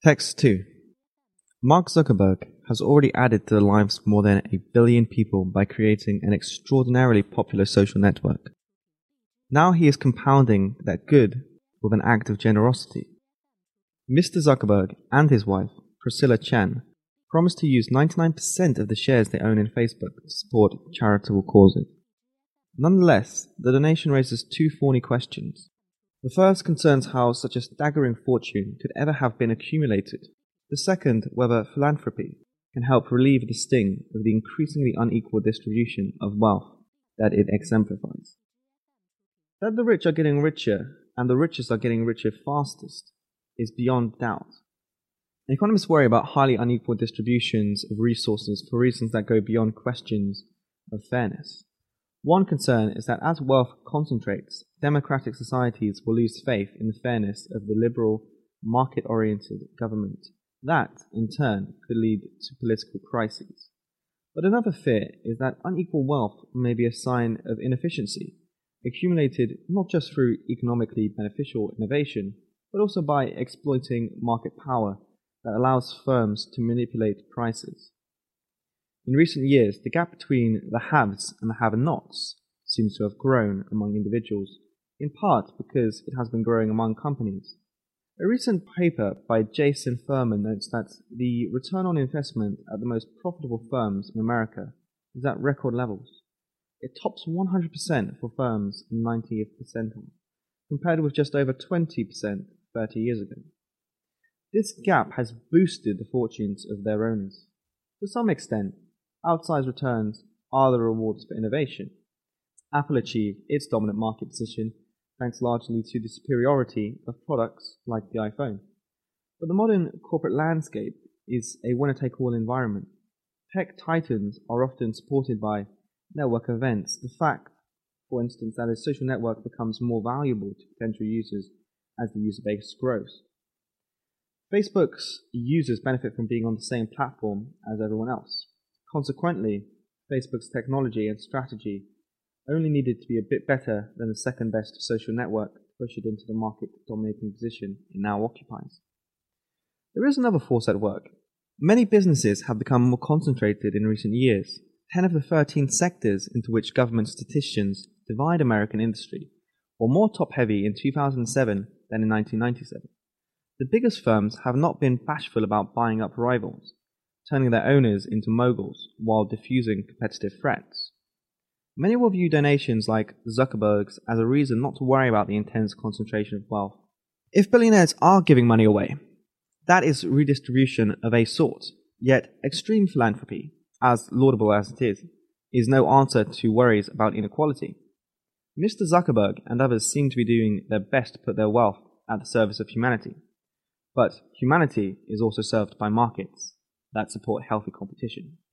Text 2. Mark Zuckerberg has already added to the lives of more than 1 billion people by creating an extraordinarily popular social network. Now he is compounding that good with an act of generosity. Mr. Zuckerberg and his wife, Priscilla Chan, promised to use 99% of the shares they own in Facebook to support charitable causes. Nonetheless, the donation raises two thorny questions. The first concerns how such a staggering fortune could ever have been accumulated. The second, whether philanthropy can help relieve the sting of the increasingly unequal distribution of wealth that it exemplifies. That the rich are getting richer and the richest are getting richer fastest is beyond doubt. Economists worry about highly unequal distributions of resources for reasons that go beyond questions of fairness. One concern is that as wealth concentrates, democratic societies will lose faith in the fairness of the liberal, market-oriented government. That, in turn, could lead to political crises. But another fear is that unequal wealth may be a sign of inefficiency, accumulated not just through economically beneficial innovation, but also by exploiting market power that allows firms to manipulate prices. In recent years, the gap between the haves and the have-nots seems to have grown among individuals, in part because it has been growing among companies. A recent paper by Jason Furman notes that the return on investment at the most profitable firms in America is at record levels. It tops 100% for firms in 90th percentile, compared with just over 20% 30 years ago. This gap has boosted the fortunes of their owners. To some extent, outsized returns are the rewards for innovation. Apple achieved its dominant market position thanks largely to the superiority of products like the iPhone. But the modern corporate landscape is a winner-take-all environment. Tech titans are often supported by network events. The fact, for instance, that a social network becomes more valuable to potential users as the user base grows. Facebook's users benefit from being on the same platform as everyone else. Consequently, Facebook's technology and strategy only needed to be a bit better than the second best social network to push it into the market-dominating position it now occupies. There is another force at work. Many businesses have become more concentrated in recent years. 10 of the 13 sectors into which government statisticians divide American industry were more top-heavy in 2007 than in 1997. The biggest firms have not been bashful about buying up rivals, turning their owners into moguls while diffusing competitive threats. Many will view donations like Zuckerberg's as a reason not to worry about the intense concentration of wealth. If billionaires are giving money away, that is redistribution of a sort, yet extreme philanthropy, as laudable as it is no answer to worries about inequality. Mr. Zuckerberg and others seem to be doing their best to put their wealth at the service of humanity. But humanity is also served by markets that support healthy competition.